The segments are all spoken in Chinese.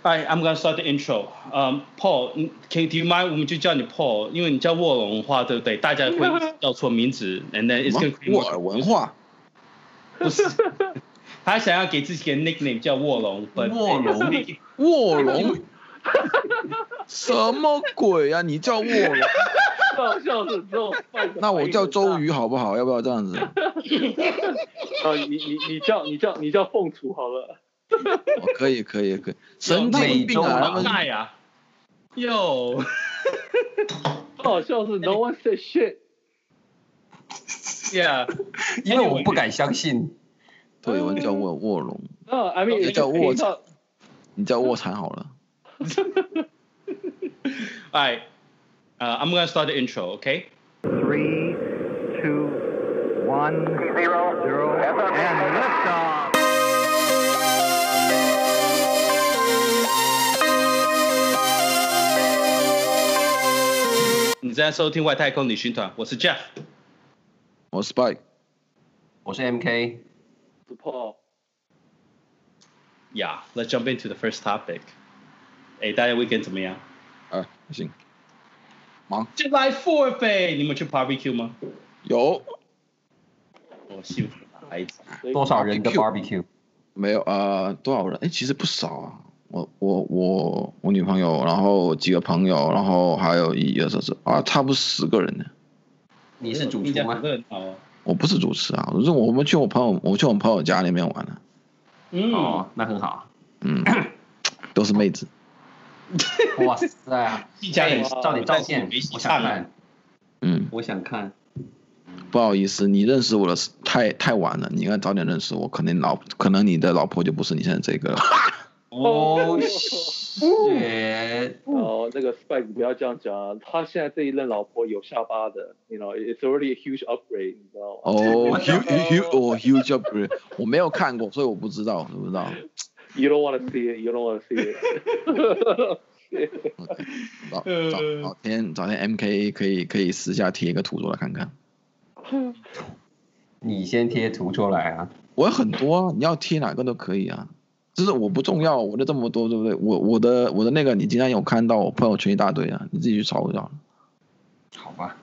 Alright, I'm gonna start the intro. Paul, do you mind?我们就叫你 Paul， 因为你叫卧龙的话，对不对？大家会叫错名字 ，and then it's gonna create 沃尔文化。 不是，他想要给自己一個 nickname 叫卧龍。 卧龍，什麼鬼啊？你叫卧龍？ 笑死之後， 那我叫周瑜好不好？要不要這樣子？ 你叫鳳雛好了。 可以，神經病啊！他們愛啊！喲， 好笑是 No one said shit。Yeah， 因為我不敢相信。 對，有人叫臥龍。 I mean， 你叫臥蠶，你叫臥蠶好了。 Alright, I'm gonna start the intro, okay? 3, 2, 1, 0, and liftoff. 你在收聽外太空旅行團，我是 Jeff， 我是 Spike， 我是 MK， 我是 Paul。Yeah, let's jump into the first topic. 大家 weekend 怎麼樣？ 行，忙。 July 4th， 你們去 barbecue 嗎？ 有。 幸福的孩子。 多少人的 barbecue？ 没有多少人？其實不少啊。我女朋友，然後幾個朋友，然後還有1、2、3、4差不多10個人呢。 你是主廚嗎？ 我不是主持啊，我們去我朋友家那邊玩了。 哦，那很好。 都是妹子。 哇塞！照點照片，我想看。我想看。 不好意思，你認識我的太晚了，你應該早點認識我，可能你的老婆就不是你現在這個了。 哦，那個 Spike 不要這樣講啊，他現在這一任老婆有下巴的 ，you know it's already a huge upgrade， 你知道嗎？ huge upgrade， 我沒有看過，所以我不知道，知不知道 ？You don't want to see it, you don't want to see it 。 早天 MK 可以私下貼一個圖出來看看。 你先貼圖出來啊！ 我有很多啊，你要貼哪個都可以啊。就是我不重要，我的這麼多，對不對？我的那個，你今天有看到我朋友圈一大堆啊，你自己去抄一下。 好吧。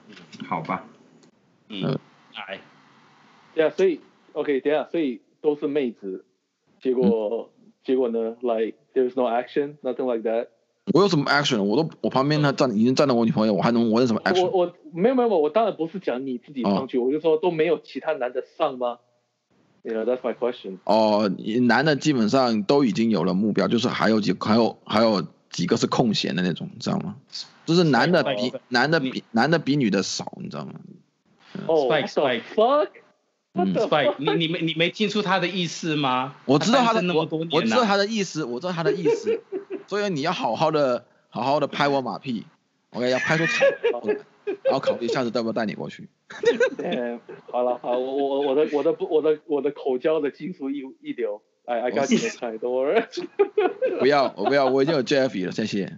對啊，所以 OK， 等下，所以都是妹子，結果呢 ，like there's no action, nothing like that。 我有什麼 action？ 我旁邊已經站了我女朋友，我有什麼 action？ 我沒有，我當然不是講你自己上去，我就說都沒有其他男的上嗎？You know, that's my question. 男的基本上都已經有了目標，就是還有幾個是空閒的那種，你知道嗎？就是男的比女的少，你知道嗎 ？Spike， 你沒聽出他的意思嗎？ 我知道他的意思，所以你要好好的拍我馬屁 ，OK， 要拍出彩，然後考慮下次要不要帶你過去。 好，我的口交的技術一流。I got you next time, don't worry。 不要，我已經有 Jeffy 了，謝謝。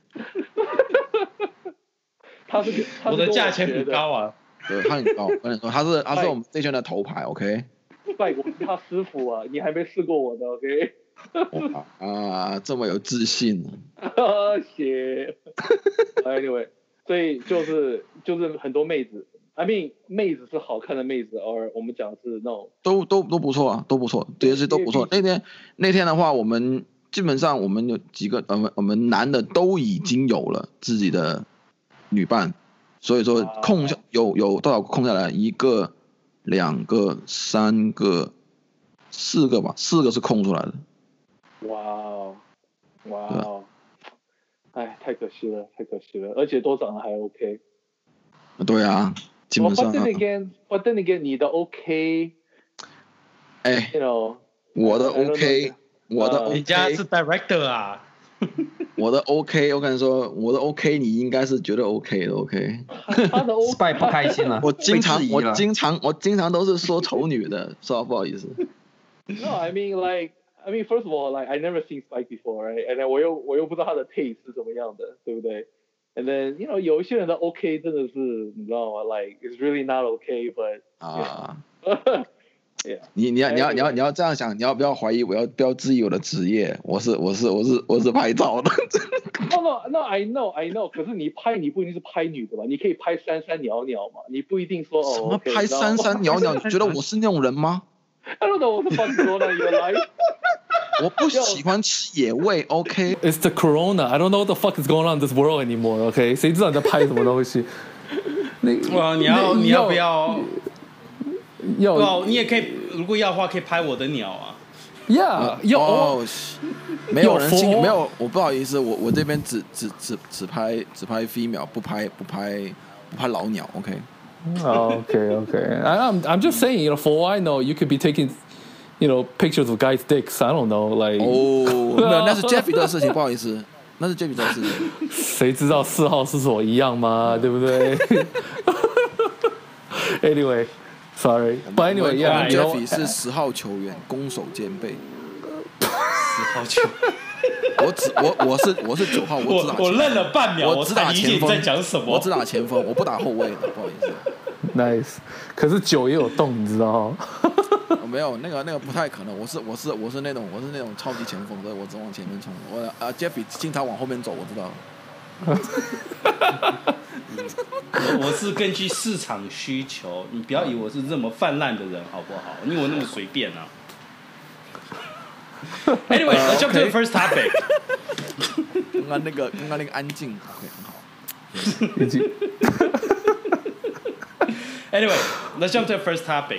我的價錢很高啊。 對，他很高，我跟你說，他是我們這圈的頭牌 ，OK。 拜，我是他師傅啊，你還沒試過我的 ，OK。 這麼有自信。 謝。Anyway， 所以就是很多妹子。I mean， 妹子是好看的妹子，而我們講的是那種都不錯啊，都不錯，這些都不錯。那天的話，我們基本上我們有幾個，我們男的都已經有了自己的女伴，所以說有多少空下來？1個、2個、3個、4個吧，4個是空出來的。哇哦，哎，太可惜了，而且都長得還 OK。 對啊。基本上 But then again， 你的 OK， you know， 我的 OK， 人家是 director 啊。 我的 OK， 我跟你說，我的 OK， 你應該是覺得 OK 的 OK。 他的 Spike 不開心了。 我經常都是說醜女的，說不好意思。 No, I mean first of all, like I never seen Spike before, right? And then 我又不知道他的 taste 是怎麼樣的，對不對？ And then, you know, 有一些人的 OK 真的是，你知道嗎？ Like, it's really not okay, but... 你要這樣想，你要不要懷疑？不要質疑我的職業？我是拍照的。 No, I know. 可是你不一定是拍女的吧？你可以拍三三裊裊嘛，你不一定说什么拍三三裊裊？你覺得我是那種人嗎 ？I don't know what the fuck is going on in your life. 我不喜歡吃野味 ，OK？ It's the corona. I don't know what the fuck is going on in this world anymore. OK？ 誰知道你在拍什麼東西？ 哇，你要不要？你也可以，如果要的話，可以拍我的鳥啊。 Yeah， 沒有人信，沒有，我不好意思，我這邊只拍 female， 不拍老鳥 ，OK？Okay. I'm just saying, for all I know, you could be taking, pictures of guys' dicks. I don't know, like. 那是 Jeffy 的事情，不好意思，那是 Jeffy 的事情。 誰知道4號是所一樣嗎？對不對 ？Anyway, but anyway, yeah. Jeffy 是10號球員，攻守兼備。 10號球。 我是9號， 我愣了半秒， 我只打前鋒。 在講什麼？ 我只打前鋒，我不打後衛的，不好意思。 Nice， 可是9也有動，你知道嗎？ 沒有，那個不太可能。我是那種超級前鋒，所以我只往前面衝。Jeffy 經常往後面走，我知道。 我是根據市場需求，你不要以為我是這麼泛濫的人，好不好？因為我那麼隨便啊。Anyway, let's jump to the first topic. 剛剛那個安靜 ，OK， 很好。 Anyway, let's jump to the first topic.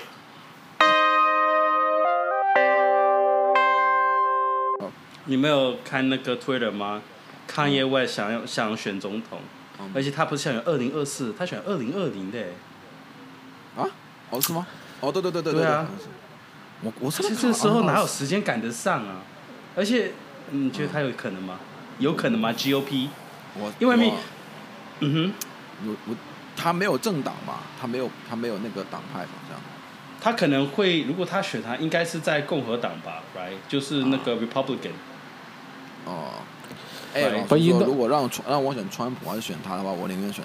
你沒有看那個 Twitter 嗎？ Kanye West 想選總統，而且他不是想選2024，他選2020的。 啊？哦，是嗎？哦，對。 對啊。 我其實這時候哪有時間趕得上啊？而且你覺得他有可能嗎？有可能嗎 ？GOP？ 因為他沒有政黨嘛，他沒有那個黨派嘛，這樣。 他可能會，如果他選他，應該是在共和黨吧 ，right？ 就是那個 Republican。 哦。老實說，如果讓我選川普還是選他的話，我寧願選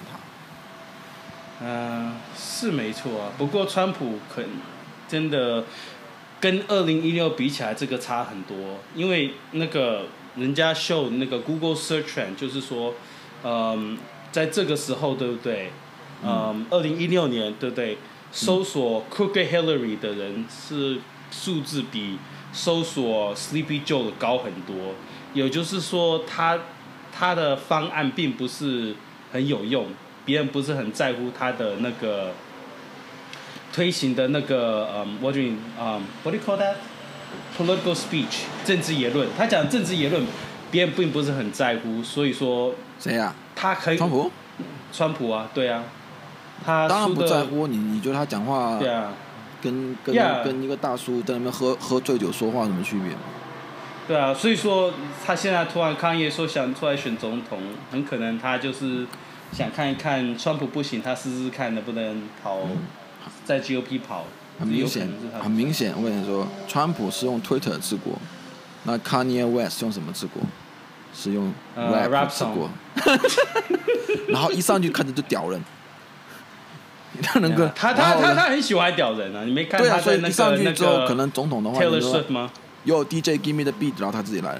他。 是沒錯啊。不過川普真的跟2016比起來，這個差很多。因為那個人家 show 那個 Google Search Trend， 就是說，在這個時候，對不對？2016年，對不對？搜索 Crooked Hillary 的人是數字比搜索 Sleepy Joe 的高很多。也就是說他的方案並不是很有用，別人不是很在乎他的那個推行的那個what do you call that? Political speech 政治言論，他講政治言論，別人並不是很在乎，所以說誰啊？ 他可以川普啊，對啊，他當然不在乎你覺得他講話對啊，跟一個大叔在那邊喝醉酒說話有什麼區別？ 對啊，所以說他現在突然抗議說想出來選總統，很可能他就是想看一看川普不行，他試試看能不能跑在 GOP 跑。很明顯，我跟你說，川普是用 Twitter 治國，那 Kanye West 用什麼治國？是用 rap 治國。然後一上去看着就屌人。他很喜歡屌人啊！你沒看他在那個一上去之後可能總統的話 Taylor Swift 嗎？ 有 DJ Give Me the Beat， 然後他自己來了。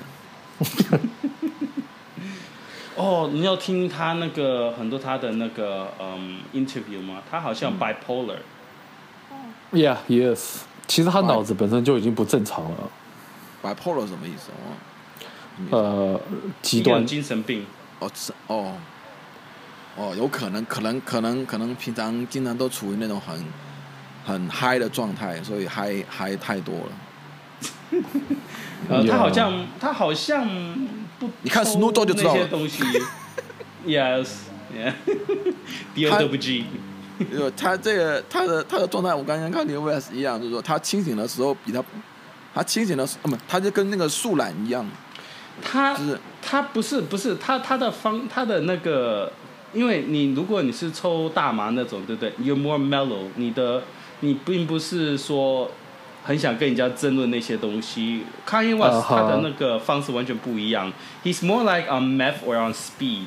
哦，你要聽他那個很多他的那個interview 嗎？他好像 bipolar。Yeah, he is。其實他腦子本身就已經不正常了。 bipolar 什麼意思？ 極端精神病。 有可能平常經常都處於那種很嗨的狀態，所以嗨太多了。 他好像不， 你看 Snoop Dogg 就知道了。 那些東西 ，yes， DOWG。 他這個他的狀態，我剛剛看 Kanye West 一樣，就是說他清醒的時候他清醒的時候，他就跟那個樹懶一樣。他不是他的那個，因為如果你是抽大麻那種，對不對 ？You're more mellow， 你並不是說很想跟人家爭論那些東西。Kanye West 他的那個方式完全不一樣。He's more like on meth or on speed。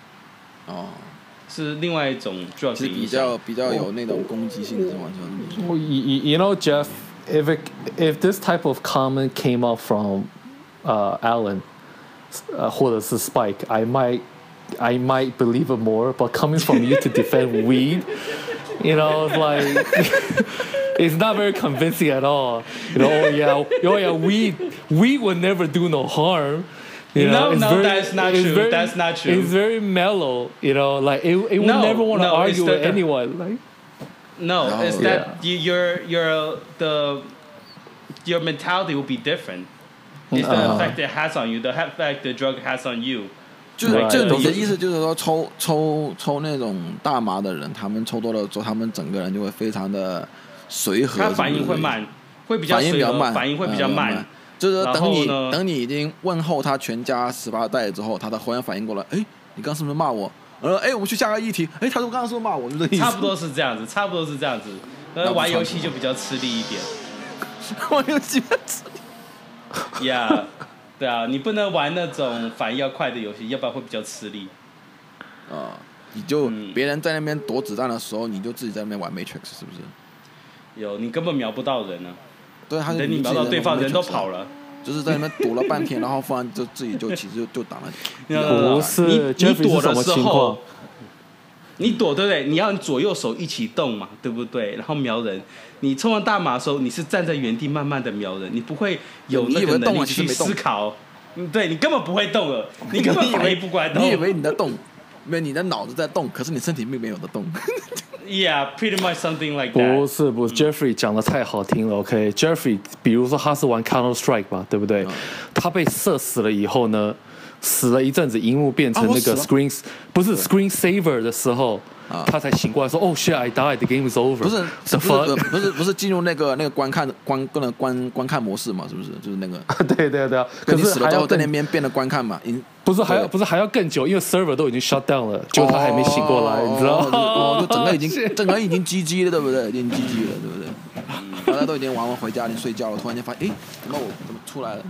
是另外一種 drug 的影響。 比較有那種攻擊性，是完全。 You know, Jeff, if this type of comment came up from Alan 或者是 Spike, I might believe it more. But coming from you to defend weed, you know, it's like it's not very convincing at all. You know, oh yeah, weed would never do no harm. You know, that's not true. That's not true. It's very mellow. You know, like it would never want to argue with anyone. Like. No, it's that your mentality will be different. It's the effect it has on you, the effect the drug has on you. 就你的意思就是说，抽那种大麻的人，他们抽多了之后，他们整个人就會非常的隨和， 他反應會慢，會比較隨和，反應會比較慢。 就是等你已經問候他全家18代之後，他才忽然反應過來，哎，你剛是不是罵我？我們去下個議題。哎，他說剛剛是不是罵我？就這個意思。 差不多是這樣子。玩遊戲就比較吃力一點。 玩遊戲比較吃力。 Yeah， 對啊，你不能玩那種反應要快的遊戲，要不然會比較吃力。 你就別人在那邊躲子彈的時候，你就自己在那邊玩 Matrix， 是不是？ 有，你根本瞄不到人啊。 對，等你瞄到對方，人都跑了。 就是在那邊躲了半天，然後忽然就自己就其實就擋了。 不是， 你躲的時候，你躲對不對？你要左右手一起動嘛，對不對？然後瞄人。你抽完大麻的時候，你是站在原地慢慢的瞄人，你不會有那個能力去思考。對，你根本不會動了，你根本反應不過來動。 你以為你在動，因為你的腦子在動，可是你身體並沒有在動。 Yeah, pretty much something like that. 不是 ，Jeffrey 講的太好聽了。OK，Jeffrey，比如說他是玩 Counter Strike 吧，對不對？他被射死了以後呢，死了一陣子，螢幕變成那個 screen saver 的時候，他才醒過來說，Oh shit, I died, the game is over。不是進入那個觀看模式嘛？是不是？就是那個。對啊。可是還要在那邊變得觀看嘛？不是還要更久，因為 server 都已經 shut down 了，就他還沒醒過來，你知道嗎？ 就整個已經 GG 了，對不對？已經 GG 了，對不對？大家都已經玩完回家，你睡覺了，突然間發現，哎，怎麼出來了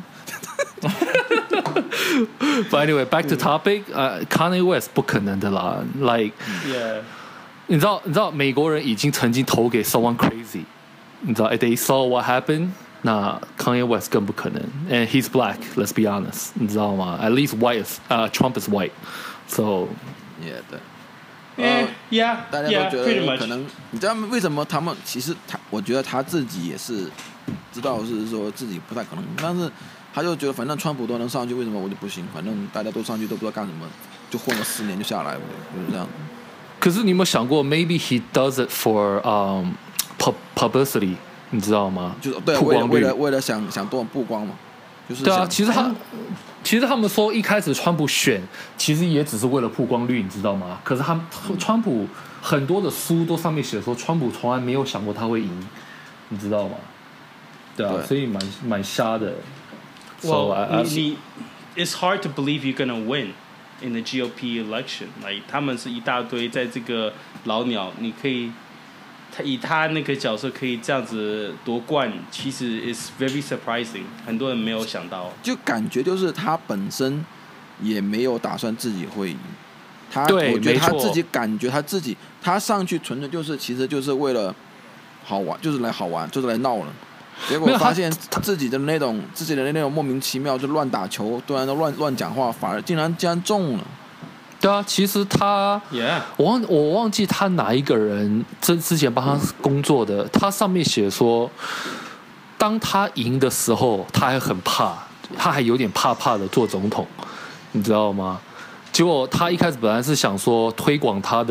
？But anyway, back to topic. Kanye West 不可能的啦。Like,你知道美國人已經曾經投給 someone crazy， 你知道 ？They saw what happened。那 Kanye West 更不可能 ，and he's black. Let's be honest， 你知道嗎 ？At least white is Trump is white. So yeah， 對。大家都覺得可能，你知道為什麼他們其實我覺得他自己也是知道是說自己不太可能，但是他就覺得反正川普都能上去，為什麼我就不行？反正大家都上去都不知道幹什麼，就混了10年就下來了，就是這樣。 可是你有沒有想過 ，maybe he does it for publicity？你知道嗎？ 就是對，為了想多曝光嘛，就是對啊。其實他們說一開始川普選，其實也只是為了曝光率，你知道嗎？可是川普很多的書都上面寫說，川普從來沒有想過他會贏，你知道嗎？對啊，所以蠻瞎的。 Well, it's hard to believe you're gonna win in the GOP election. Like 他們是一大堆，在這個老鳥，你可以。以他那個角色可以這樣子奪冠，其實 is very surprising， 很多人沒有想到。 就感覺就是他本身也沒有打算自己會贏，我覺得他自己感覺他上去純粹就是其實就是為了好玩，就是來好玩，就是來鬧了。結果發現自己的那種莫名其妙就亂打球，突然都亂講話，反而竟然中了。 對啊，其實他， 我忘記他哪一個人之前幫他工作的，他上面寫說，當他贏的時候，他還很怕，他還有點怕的做總統，你知道嗎？結果他一開始本來是想說推廣他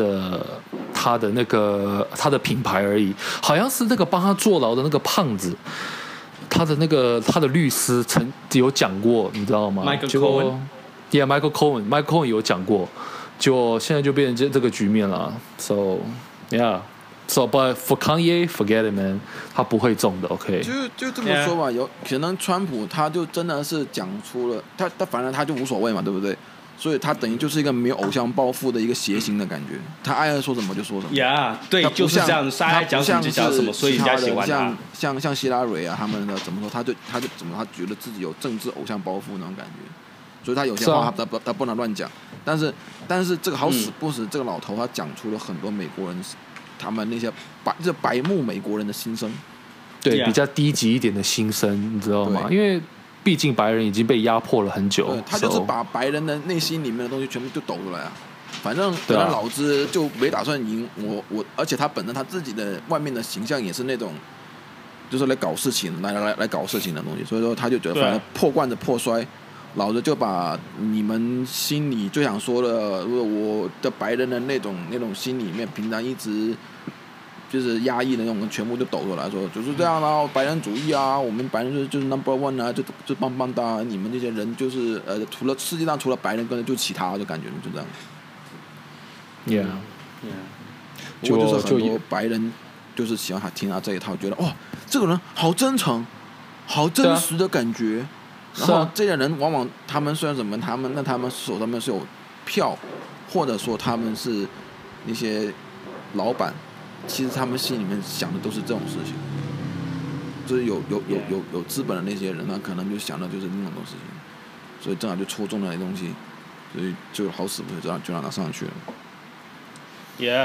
的品牌而已，好像是那個幫他坐牢的那個胖子，他的律師曾有講過，你知道嗎？結果。Yeah, Michael Cohen 有講過，就現在就變成這個局面了。So, yeah. So, but for Kanye, forget it, man. 他不會中的 ，OK。 就這麼說吧，有可能川普他就真的是講出了他反正他就無所謂嘛，對不對？所以他等於就是一個沒有偶像包袱的一個諧星的感覺，他愛說什麼就說什麼。 Yeah， 對，就是這樣子，他愛講什麼就講什麼，所以人家喜歡他。 像希拉蕊啊，他們的怎麼說，他覺得自己有政治偶像包袱那種感覺。所以他有些話他不能亂講，但是這個好死不死，這個老頭他講出了很多美國人他們那些白目美國人的心聲， 對，比較低級一點的心聲，你知道嗎？因為畢竟白人已經被壓迫了很久， 他就是把白人的內心裡面的東西全部就抖出來啊。反正老子就沒打算贏我，而且他本身他自己的外面的形象也是那種，就是來搞事情，來搞事情的東西，所以說他就覺得反正破罐子破摔，老子就把你們心裡最想說的，我的白人的那種心裡面平常一直就是壓抑的那種，全部就抖出來說就是這樣啊，白人主義啊，我們白人就是 number one 啊，就棒棒噠啊，你們這些人就是除了世界上除了白人，根本就其他，就感觉就這樣。 Yeah， 不過就是很多白人就是喜歡聽他這一套，覺得哦，這個人好真誠，好真實的感覺。然後這些人往往他們雖然什麼，他們手上面是有票，或者說他們是那些老闆，其實他們心裡面想的都是這種事情。就是有資本的那些人呢，可能就想的就是那種事情，所以正好就戳中了那東西，所以就好死不死就讓他上去了。 Yeah，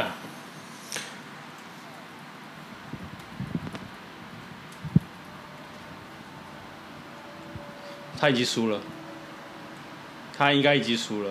他已經輸了，他應該已經輸了。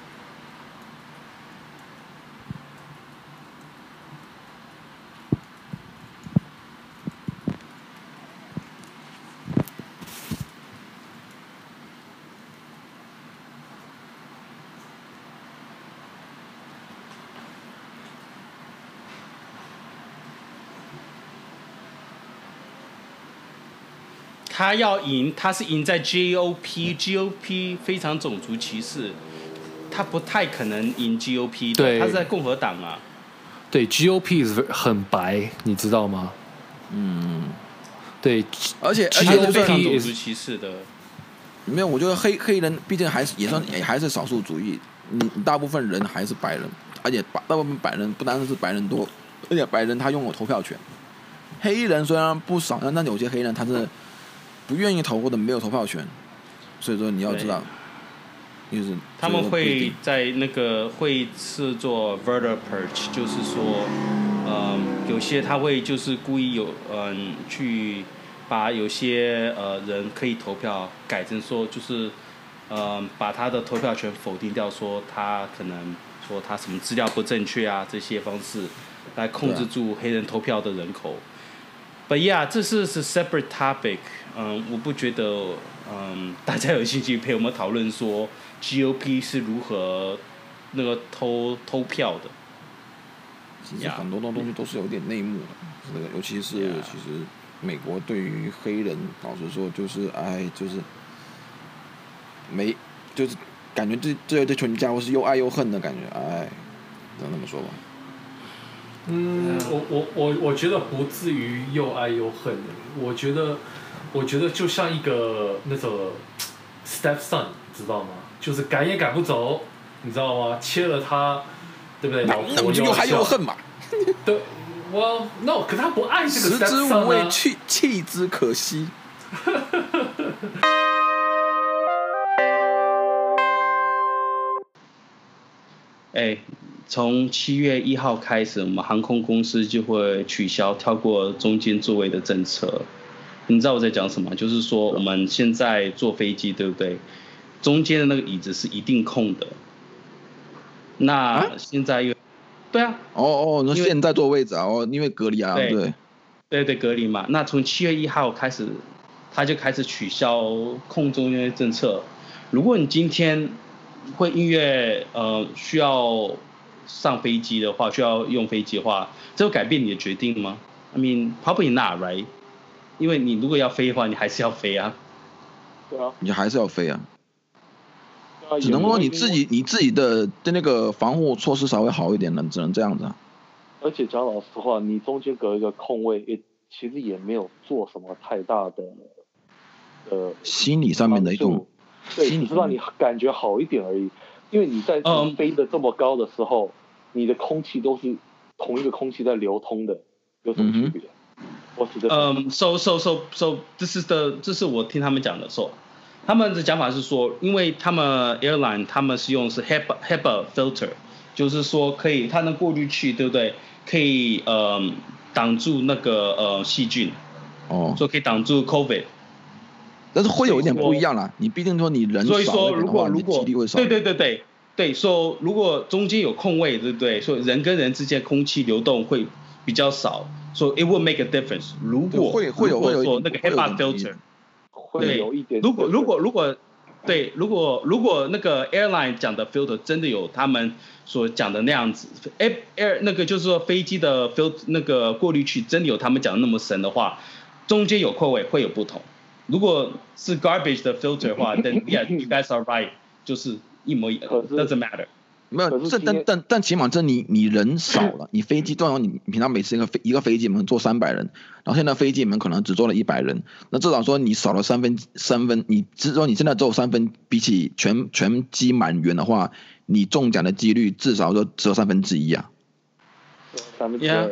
他要贏，他是贏在 GOP 非常種族歧視，他不太可能贏 GOP 的， 對， 他是在共和黨啊。 對 ，GOP 很白，你知道嗎？嗯，对， 而且 GOP 非常种族歧视的。 没有，我觉得黑人畢竟也還是少數主義，你大部分人還是白人，而且大部分白人不單是白人多，而且白人他擁有投票權。黑人雖然不少，但有些黑人他是不願意投或者沒有投票權，所以說你要知道，就是他們會在那個會是做 voter purge， 就是說，有些他會就是故意去把有些人可以投票改成說就是把他的投票權否定掉，說他可能說他什麼資料不正確啊，這些方式來控制住黑人投票的人口。But yeah， 這是 separate topic。我不覺得大家有興趣陪我們討論說 GOP 是如何那個投票的。 其實很多東西都是有點內幕的，這個尤其是其實美國對於黑人，老實說就是就是感覺這群家伙是又愛又恨的感覺，只能這麼說吧。 我覺得不至於又愛又恨的，我覺得就像一個那個 stepson， 知道嗎？就是趕也趕不走，你知道嗎？切了他，對不對？ 那我就又愛又恨嘛。 對，我 no， 可他不愛這個 stepson 啊。食之無味， 棄之可惜。 從7月1號開始，我們航空公司就會取消跳過中間座位的政策。你知道我在講什麼？就是說我們現在坐飛機，對不對？中間的那個椅子是一定空的。那現在對啊。 那現在坐位置啊，因為隔離啊，對， 隔離嘛。那從7月1號開始，他就開始取消空中間政策。如果你今天會因為需要上飛機的話，需要用飛機的話，這會改變你的決定嗎 ？I mean, probably not, right? 因為你如果要飛的話，你還是要飛啊。 對啊。 你還是要飛啊。只能說你自己的那個防護措施稍微好一點了，只能這樣子啊。 而且講老實話，你中間隔一個空位，其實也沒有做什麼太大的心理上面的一種。 對，只是讓你感覺好一點而已。因為你在飛得這麼高的時候，你的空氣都是同一個空氣在流通的，有什麼區別？ 這是我聽他們講的時候，他們的講法是說，因為他們 airline 他們是用是 HEPA filter， 就是說可以它能過濾器，對不對？可以擋住那個細菌。 說可以擋住 COVID。 但是會有一點不一樣啦，你畢竟說你人少一點的話，所以說如果幾率會少。 對，說如果中間有空位，對不對？所以人跟人之間空氣流動會比較少，所以 it will make a difference。如果會有說那個 HEPA filter， 會有一點。 如果那個 airline 講的 filter 真的有他們所講的那樣子，air 那個就是說飛機的 filter 那個過濾器真的有他們講的那麼深的話，中間有空位會有不同。如果是 garbage 的 filter 的話，then yeah you guys are right， 就是一模一樣 ，doesn't matter。 沒有，但起碼你人少了，你飛機通常你平常每次一個飛機能坐300人，然後現在飛機里面可能只坐了100人，那至少說你少了三分，你只說你現在只有3分，比起全機滿員的話，你中獎的幾率至少說只有1/3啊。 2/3。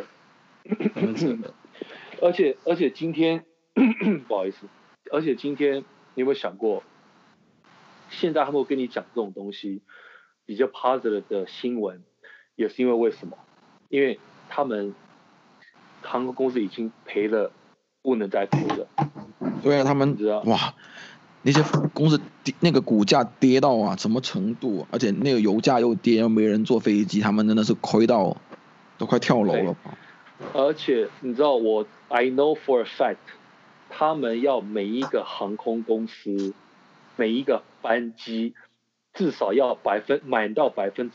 而且今天不好意思，而且今天你有沒有想過，現在他們会跟你講這種東西？比較 positive 的新聞，也是因為什麼？因為他們航空公司已經賠了，不能再賠了。 對啊，他們哇，那些公司那個股價跌到什麼程度啊？而且那個油價又跌，又沒人坐飛機，他們真的是虧到都快跳樓了吧？ 而且你知道I know for a fact， 他們要每一個航空公司每一個班機。至少要滿到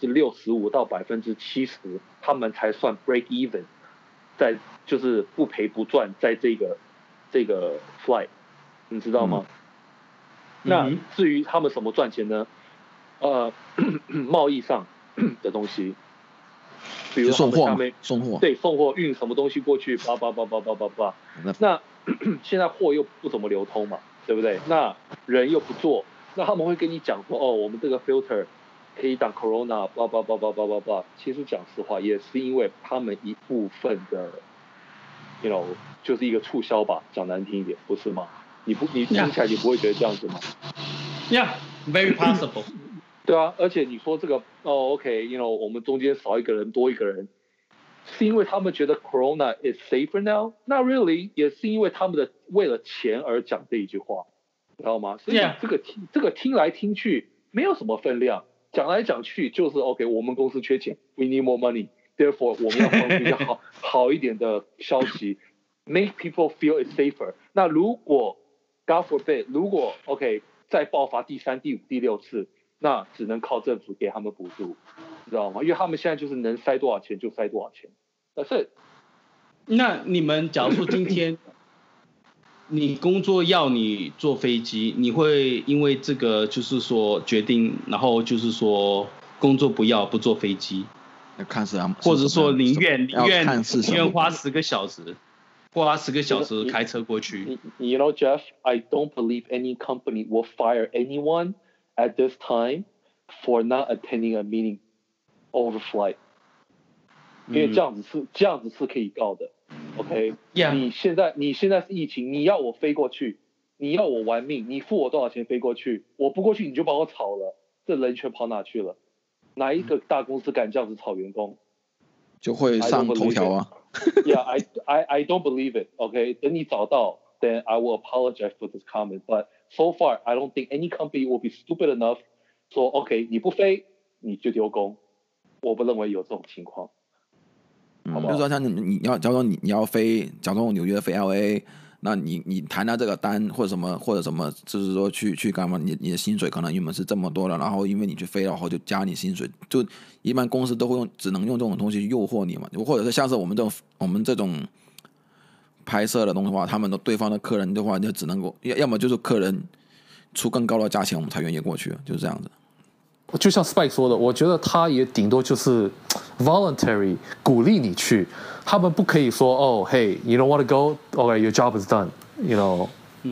65%到70%，他們才算 break even， 在就是不賠不賺，在這個 flight， 你知道嗎？那至於他們什麼賺錢呢？貿易上的東西，比如送貨， 对，送貨運什麼東西過去，叭。那現在貨又不怎麼流通嘛，對不對？那人又不做。那他們會跟你講說，我們這個 filter 可以擋 corona， 叭。其實講實話，也是因為他們一部分的 就是一個促銷吧，講難聽一點，不是嗎？你聽起來你不會覺得這樣子嗎 ？Yeah, very possible。 對啊，而且你說這個OK， 我們中間少一個人多一個人，是因為他們覺得 corona is safer now？ Not really， 也是因為他們為了錢而講這一句話。知道嗎？所以這個聽來聽去沒有什麼分量，講來講去就是 OK， 我們公司缺錢 ，We need more money，therefore 我們要放出一個好一點的消息 ，make people feel it's safer。那如果 God forbid， 如果 OK 再爆發第3、第5、第6次，那只能靠政府給他們補助，知道嗎？因為他們現在就是能塞多少錢就塞多少錢。但是， 那你們假如說今天。你工作要你坐飛機，你會因為這個就是說決定，然後就是說工作不坐飛機，或者說寧願花10個小時開車過去。 You know, Jeff, I don't believe any company will fire anyone at this time for not attending a meeting over flight， 因為這樣子是可以告的。OK， 你現在是疫情，你要我飛過去，你要我玩命，你付我多少錢飛過去？我不過去你就把我炒了，這人權跑哪去了？哪一個大公司敢這樣子炒員工？ 就會上頭條啊。 Yeah, I don't believe it. OK， 等你找到 ，then I will apologize for this comment. But so far, I don't think any company will be stupid enough 說 OK， 你不飛你就丟工。我不認為有這種情況。 就是說像你要，假如說你要飛，假如說紐約飛 LA， 那你談到這個單或者什麼，就是說去幹嘛？你的薪水可能原本是這麼多了，然後因為你去飛，然後就加你薪水，就一般公司都會只能用這種東西去誘惑你嘛，或者是像是我們這種拍攝的東西的話，他們的對方的客人的話就只能夠要麼就是客人出更高的價錢，我們才願意過去，就是這樣子。 就像 Spike 說的，我覺得他也頂多就是 voluntary 鼓勵你去，他們不可以說哦 ，Hey, you don't want to go? Okay, your job is done. You know?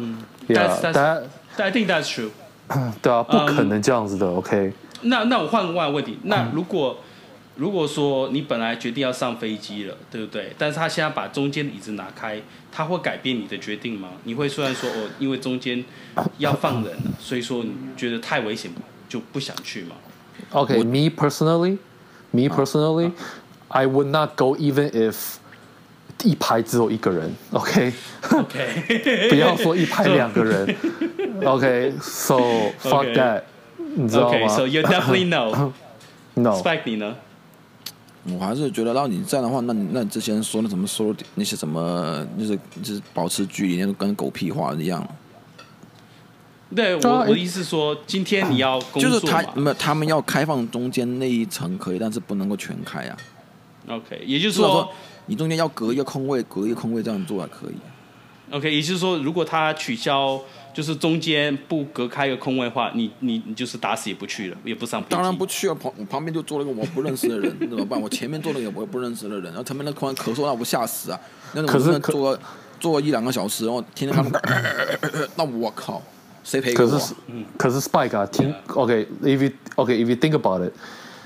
Yeah, I think that's true. 對啊，不可能這樣子的。OK。 那我換個問題，那如果說你本來決定要上飛機了，對不對？但是他現在把中間的椅子拿開，他會改變你的決定嗎？你會雖然說因為中間要放人了，所以說你覺得太危險就不想去嘛 ？Okay, me personally, I would not go even if 一排只有一個人 ，OK， OK， 不要說一排兩個人 ，OK，so fuck that， 你知道嗎 ？OK，so you definitely no。No。Spike 你呢？ 我還是覺得，讓你這樣的話，那你之前說那什麼說那些什麼，就是保持距離，那都跟狗屁話一樣。 對，我的意思是說，今天你要工作嘛， 就是他們要開放中間那一層可以，但是不能夠全開啊。 OK， 也就是說， 你中间要隔一個空位，隔一個空位這樣做還可以。 OK， 也就是说，如果他取消，就是中間不隔開一個空位的話，你就是打死也不去了，也不上飛機。 當然不去了，旁邊就坐了一個我不認識的人，怎麼辦？我前面坐了一個我不認識的人，然後前面那突然咳嗽，那我不嚇死啊！那我坐1-2個小時，然後天天他們，那我靠，誰賠給我？ 可是 Spike 啊，聽 OK，if you think about it，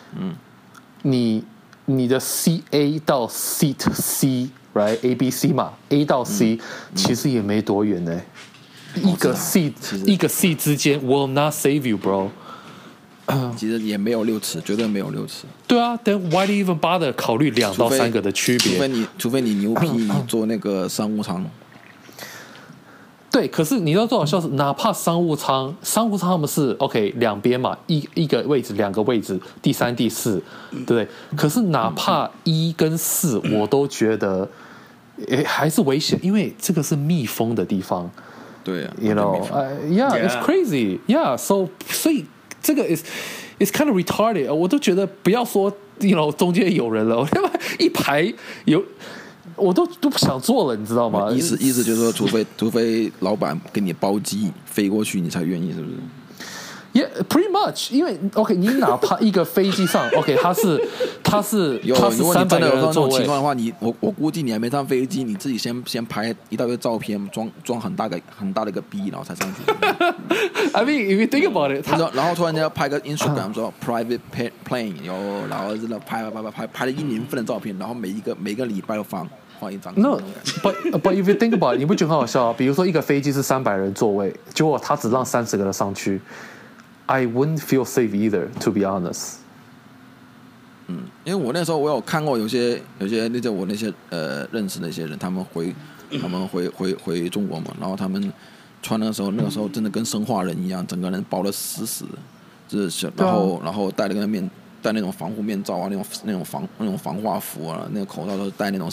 你的 CA 到 Seat C。Right, A B C 嘛 ，A 到 C、其實也沒多遠呢。一個 C 之間 will not save you, bro。 其實也沒有6尺，絕對沒有6尺。 對啊 ，Then why do you even bother 考慮2到3個的區別？ 除非你牛批，你做那個商務艙。 對，可是你知道多好笑是，哪怕商務艙他們是 OK 兩邊嘛，一個位置2個位置，第3、第4，對不對？可是哪怕1跟4，我都覺得還是危險，因為這個是密封的地方。 對啊 ，you know， yeah，it's crazy， yeah，so 所以這個 is kind of retarded， 我都覺得不要說 you know 中間有人了，一排有。我都不想做了，你知道嗎？意思就是說，除非老闆給你包機飛過去，你才願意，是不是 ？Yeah, pretty much。因為 OK， 你哪怕一個飛機上 OK， 它是300個人的座位。如果你真的有這種情況的話，我估計你還沒上飛機，你自己先拍一大堆照片，裝很大的一個 B， 然後才上去。I mean, if you think about it， 然後突然間要拍個 Instagram 說 private plane， 然後真的拍了1年份的照片，然後每個禮拜都放一張。 No, but if you think about it， 你不覺得很好笑啊？比如說一個飛機是300人座位，結果他只讓30個人上去。I wouldn't feel safe either, to be honest. 因為我那時候我有看過有些我那些認識的一些人，他們回中國嘛，然後他們穿的時候，那個時候真的跟生化人一樣，整個人包得死死的，就是然後戴那種防護面罩啊，那種防化服啊，那個口罩都是戴那個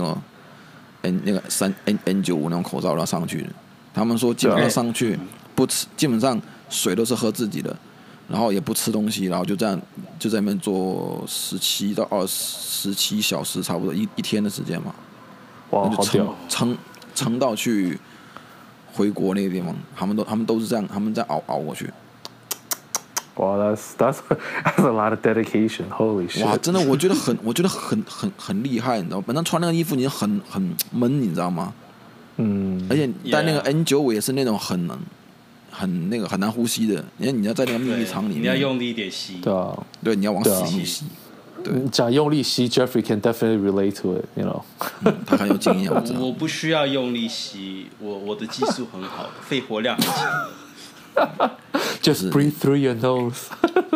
N95 那種口罩然後上去的。他們說基本上上去不吃，基本上水都是喝自己的，然後也不吃東西，然後就這樣就在那邊做17到27小時，差不多一天的時間嘛。 哇，好屌！ 撐到去回國那個地方，他們都是這樣，他們在熬過去。 哇 ，that's a lot of dedication. Holy shit！ 哇，真的，我覺得很厲害，你知道嗎？本身穿那個衣服你很悶，你知道嗎？而且戴那個 N95 也是那種很難呼吸的，因為你要在那個秘密艙裡面， 你要用力一點吸。 對啊， 對，你要往死裡吸。對， 講用力吸 ，Jeffrey can definitely relate to it, you know 他很有經驗，我知道。 我不需要用力吸，我的技術很好，肺活量很強。 Just breathe through your nose.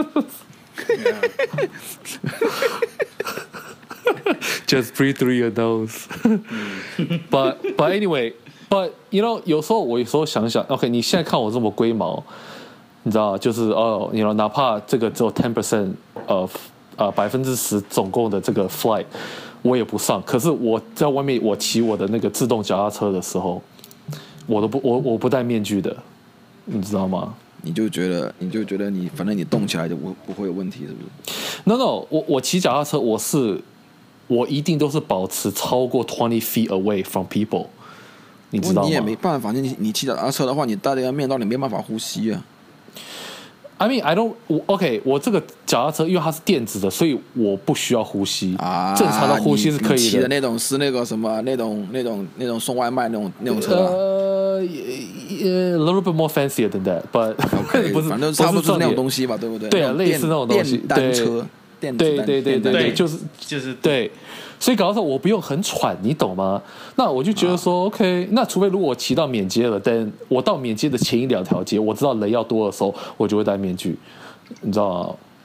Just breathe through your nose. But anyway, but you know， 有時候想想 ，OK， 你現在看我這麼龜毛，你知道，就是you know， 哪怕這個只有 10% of 10%總共的這個 flight， 我也不上。可是我在外面，我騎我的那個自動腳踏車的時候，我不戴面具的。你知道嗎？ 你就覺得你反正你動起來就不會有問題，是不是 ？No， 我騎腳踏車，我一定都是保持超過20 feet away from people， 你知道嗎？ 你也沒辦法，你騎腳踏車的話，你戴這個面罩，你沒辦法呼吸啊。 I mean, OK， 我這個腳踏車因為它是電子的，所以我不需要呼吸。正常的呼吸是可以的。 騎的那種是那個什麼那種送外賣那種車啊。 A little bit more fancier than that, but okay, 不是，反正差不多是那種東西吧，對不對？ 對啊，類似那種東西。 電單車， 對，就是對。所以搞到說我不用很喘，你懂嗎？那我就覺得說 ，OK， 那除非如果我騎到免街了，但我到免街的前1-2條街，我知道人要多的時候，我就會戴面具，你知道嗎？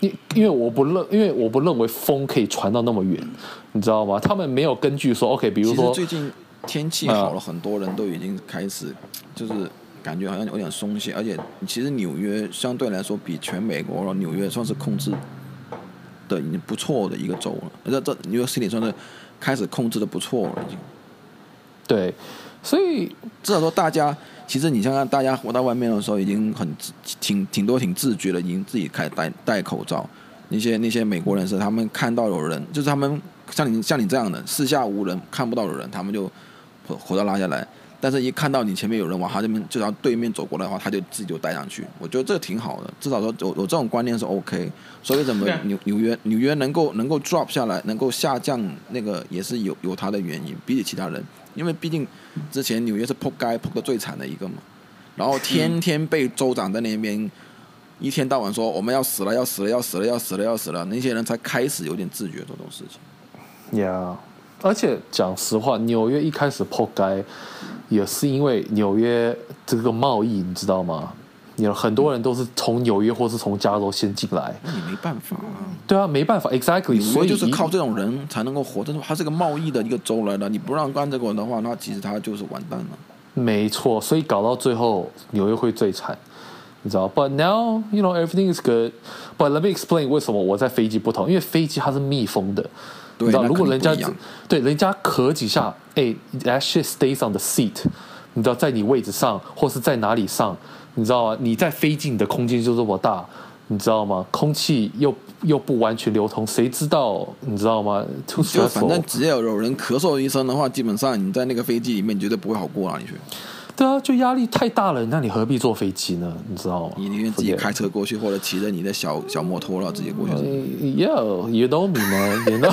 因為我不認為風可以傳到那麼遠，你知道嗎？他們沒有根據說 OK， 比如說其實最近天氣好了，很多人都已經開始就是感覺好像有點鬆懈，而且其實紐約相對來說比全美國紐約算是控制的已經不錯的一個州了，這紐約 City 算是開始控制的不錯了已經。對， 所以至少說大家，其實你想想，大家活到外面的時候已经挺多挺自覺了，已經自己開始戴口罩。那些美國人是他們看到有人，就是他们像你這樣的四下無人看不到的人，他們就口罩拉下來。但是一看到你前面有人往他這邊就朝對面走過來的話，他就自己就戴上去。我覺得這個挺好的，至少說有這種觀念是 OK。所以怎麼紐約能夠 drop 下來，能夠下降，那個也是有它的原因，比起其他人，因為畢竟之前紐約是撲街撲得最慘的一個嘛，然後天天被州長在那邊一天到晚說我們要死了，那些人才開始有點自覺這種事情。 Yeah， 而且講實話，紐約一開始撲街也是因為紐約這個貿易，你知道嗎？很多人都是從紐約或是從加州先進來， 那你沒辦法啊。 對啊，沒辦法 ，exactly。 所以就是靠這種人才能夠活，它是個貿易的一個州來的，你不讓幹這個的話，那其實它就是完蛋了。 沒錯，所以搞到最後紐約會最慘，你知道 ？But now you know everything is good. But let me explain 為什麼我在飛機不同，因為飛機它是密封的。你知道，如果人家對人家咳幾下，that shit stays on the seat， 你知道，在你位置上或是在哪裡上，你知道嗎？你在飛機，你的空間就這麼大，你知道嗎？空氣又不完全流通，誰知道？你知道嗎？就反正只要有人咳嗽一聲的話，基本上你在那個飛機裡面絕對不會好過哪裡去。 對啊，就壓力太大了，那你何必坐飛機呢？你知道嗎？ 你寧願自己開車過去，或者騎着你的小摩托然後自己過去。 Yeah, you know me, man. You know.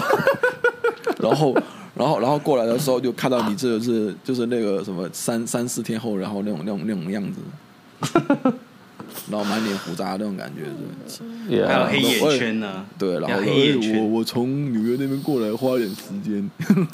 然後過來的時候就看到你就是那個什麼三四天後，然後那種樣子，然後滿臉鬍渣那種感覺是。 Yeah. 還有黑眼圈呢、啊。 對，然後我從紐約那邊過來花點時間。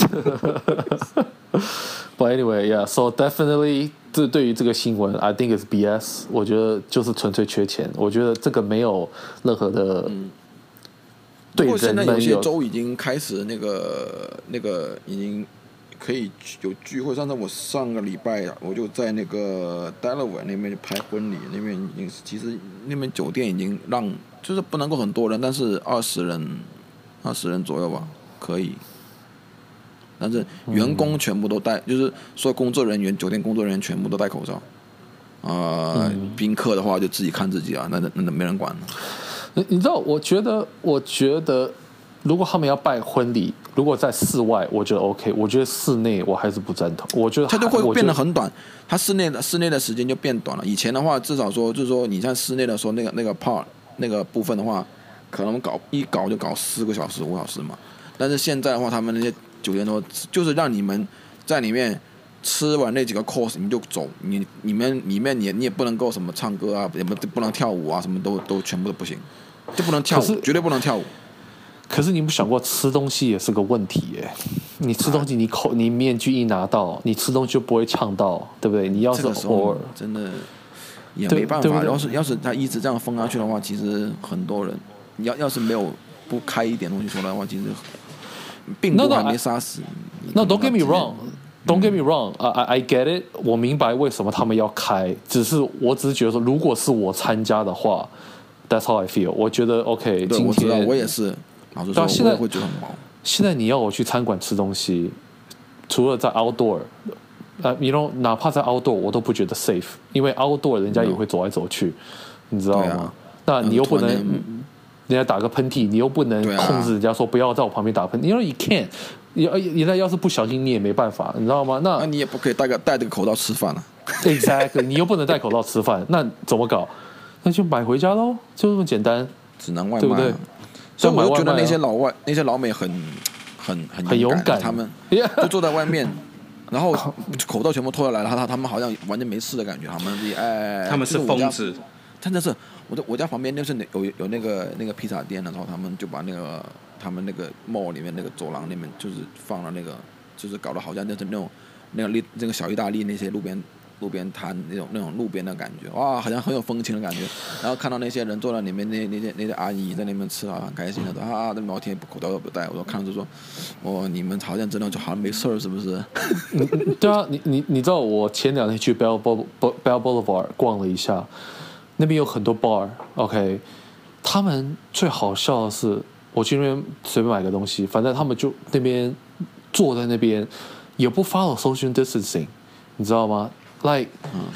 But anyway, yeah. So definitely. 這對於這個新聞 I think it's BS， 我覺得就是純粹缺錢，我覺得這個沒有任何的對人們有。不過現在有些州已經開始那個已經可以有聚會，上個禮拜我就在那個 Delaware 那邊拍婚禮，那邊已經其實那邊酒店已經讓就是不能夠很多人，但是20人左右吧可以。但是員工全部都戴，就是所有工作人員、酒店工作人員全部都戴口罩。賓客的話就自己看自己啊，那沒人管了。 你知道，我覺得，如果他們要辦婚禮，如果在室外，我覺得 OK。我覺得室內我還是不贊同。我覺得它就會變得很短， 它室內的時間就變短了。以前的話，至少說就是說你在室內的時候，那個 part 那個部分的話，可能搞就搞4個小時、5小時嘛。但是現在的話，他們那些酒店都就是讓你們在裡面吃完那幾個 course 你就走，你裡面你也不能夠什麼唱歌啊，也不能跳舞啊，什麼都全部都不行，就不能跳舞，絕對不能跳舞。 可是你不想過吃東西也是個問題耶？你吃東西你面具一拿到，你吃東西就不會嗆到，對不對？你要是偶爾真的也沒辦法。要是他一直這樣封下去的話，其實很多人要是沒有不開一點東西出來的話，其實。病毒還沒殺死。 No, don't get me wrong. Don't get me wrong. I get it. 我明白為什麼他們要開，我只是覺得說，如果是我參加的話 ，That's how I feel. 我覺得 OK。 對，我知道，我也是。老實說，我也會覺得很毛。 現在你要我去餐館吃東西，除了在 outdoor， you know， 哪怕在 outdoor 我都不覺得 safe， 因為 outdoor 人家也會走來走去，你知道嗎？那你又不能。人家打個噴嚏，你又不能控制人家說不要在我旁邊打噴嚏，因為you can't，人家要是不小心你也沒辦法，你知道嗎？那你也不可以戴這個口罩吃飯啊。 Exactly， 你又不能戴口罩吃飯，那怎麼搞？那就買回家嘍，就這麼簡單， 只能外賣， 對不對？ 所以我就覺得那些老美很勇敢， 他們就坐在外面，然後口罩全部脫下來了，他們好像完全沒事的感觉， 他們是瘋子。 真的是我家旁邊就是有那個披薩店，然後他們就把他們那個 mall 裡面那個走廊裡面就是放了那個，就是搞得好像就是那個小意大利那些路邊路邊攤那種路邊的感覺，哇，好像很有風情的感覺。然後看到那些人坐在裡面，那些阿姨在那邊吃啊，很開心的，在聊天，口罩都不戴。我說看着就說，哦，你們好像真的就好像沒事兒，是不是？ 對啊，你知道我前2天去 Bell Boulevard 逛了一下，那邊有很多 bar，OK， 他們最好笑的是，我去那邊隨便買個東西，反正他們就那邊坐在那邊，也不 follow social distancing。你知道嗎 ？Like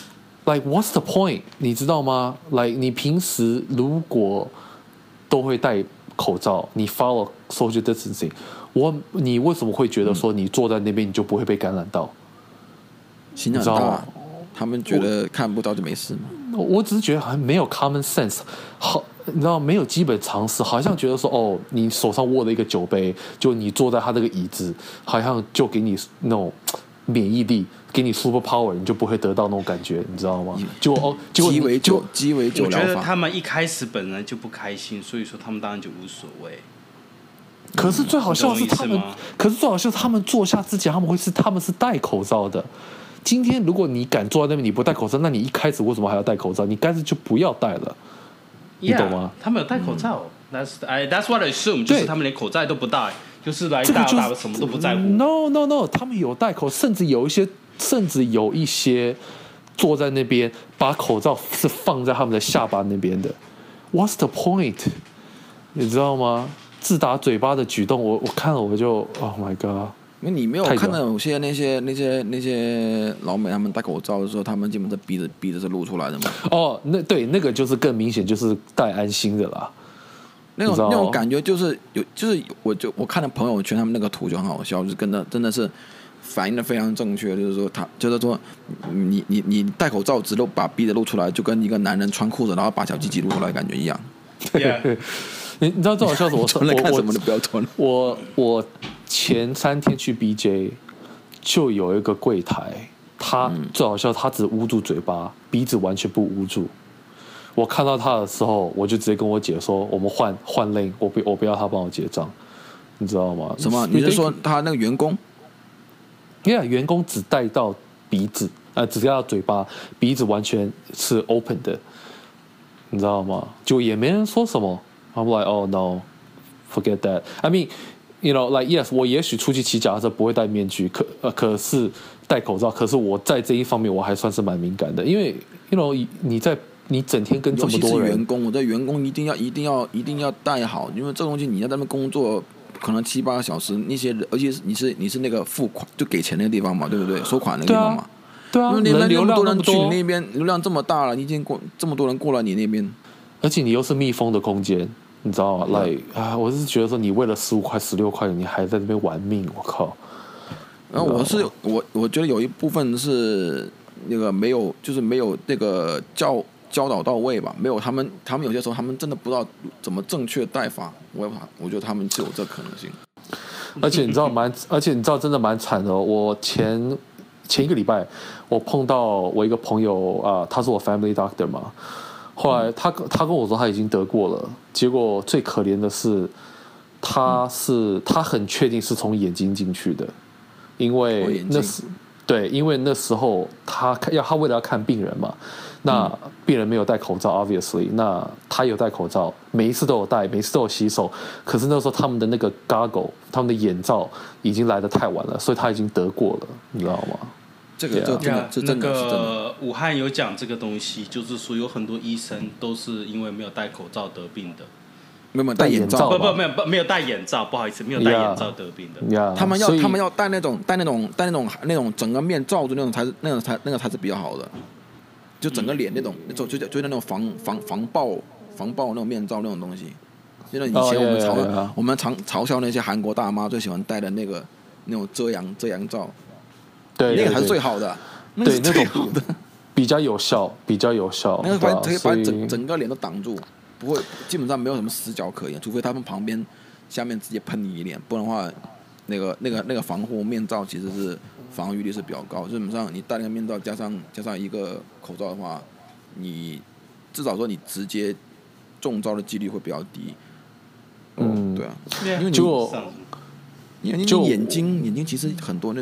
what's the point？ 你知道嗎 ？Like 你平時如果都會戴口罩，你 follow social distancing， 你為什麼會覺得說你坐在那邊你就不會被感染到？ 心很大，他們覺得看不到就沒事嗎？ 我只是覺得很沒有 common sense， 好，你知道沒有基本常識，好像覺得說哦，你手上握了一個酒杯，就你坐在他那個椅子，好像就給你那種免疫力。給你 super power， 你就不會得到那種感覺，你知道嗎？雞尾酒我覺得他們一開始本來就不開心，所以說他們當然就無所謂。 可是最好笑的是他們坐下之前，他們是戴口罩的。今天如果你敢坐在那邊，你不戴口罩，那你一開始為什麼還要戴口罩？你乾脆就不要戴了，你懂嗎？ 他們有戴口罩，That's what I assume， 就是他們連口罩都不戴，就是来大什麼都不在乎。 No， 他們有戴口，甚至有一些坐在那邊，把口罩是放在他们的下巴那邊的。What's the point？ 你知道嗎？自打嘴巴的舉動，我看了我就 Oh my God！ 因為你沒有看到有些那些老美他們戴口罩的時候，他們基本上鼻子是露出來的嘛。 哦，那個就是更明顯，就是戴安心的啦。 那種感覺就是我看了朋友圈他们那個圖就很好笑，就是真的是。反應的非常正確，就是說，你戴口罩只露把鼻子露出來，就跟一個男人穿褲子然後把小雞雞露出來的感覺一樣。 Yeah. 你知道最好笑是我穿來看什麼都不要穿。 我前3天去 BJ 就有一個櫃檯，他最好笑，他只捂住嘴巴，鼻子完全不捂住。我看到他的時候，我就直接跟我姐說，我們換 lane， 我不要他幫我結賬，你知道嗎？ 什麼？你是說他那個員工？ 因為員工只戴到鼻子，只戴到嘴巴，鼻子完全是 open 的，你知道嗎？就也沒人說什麼。I'm like, oh no, forget that. I mean, you know, like yes， 我也許出去騎腳踏車不會戴面具，可是戴口罩。可是我在這一方面我還算是蠻敏感的，因為 you know， 你整天跟這麼多人， 尤其是員工，我的員工一定要戴好，因為這東西你要在那邊工作。可能7-8個小時，那些人，而且你是那個付款就給錢那個地方嘛，對不對？收款那個地方嘛。 對啊。 因為那邊那麼多人去你那邊，流量這麼大了，你已經這麼多人過來你那邊， 而且你又是密封的空間，你知道嗎？我是覺得說你為了15塊16塊，你還在那邊玩命，我靠。 然後我覺得有一部分是那個沒有那個教導到位吧，沒有他們有些時候他們真的不知道怎麼正確戴法，我覺得他們是有這可能性。 而且你知道真的蠻慘的哦。我前一個禮拜我碰到我一個朋友啊，他是我 family doctor 嘛，後來他跟我說他已經得過了，結果最可憐的是他很確定是從眼睛進去的，因為那時候他為了要看病人嘛。那病人沒有戴口罩 ，obviously， 那他有戴口罩，每一次都有戴，每一次都有洗手。可是那時候他們的那個 goggle， 他們的眼罩已經來得太晚了，所以他已經得過了，你知道嗎？ 這真的是真的。 武漢有講這個東西，就是說有很多醫生都是因為沒有戴口罩得病的。 沒有戴眼罩， 沒有戴眼罩，不好意思，沒有戴眼罩得病的。 他們要戴那種整個面罩住那種才是比較好的。就整個臉那種就那種防爆那種面罩那種東西，就以前我們常嘲笑那些韓國大媽最喜歡戴的那種遮陽罩， 對， 那個才是最好的， 對，那種比較有效， 那個可以把整個臉都擋住，不會基本上沒有什麼死角可言，除非他們旁邊下面直接噴你一臉，不然的話，那個防護面罩其實是防禦力是比較高，基本上你戴那個面罩加上一個口罩的話，你至少說你直接中招的幾率會比較低。對啊，因為你眼睛其實很多那種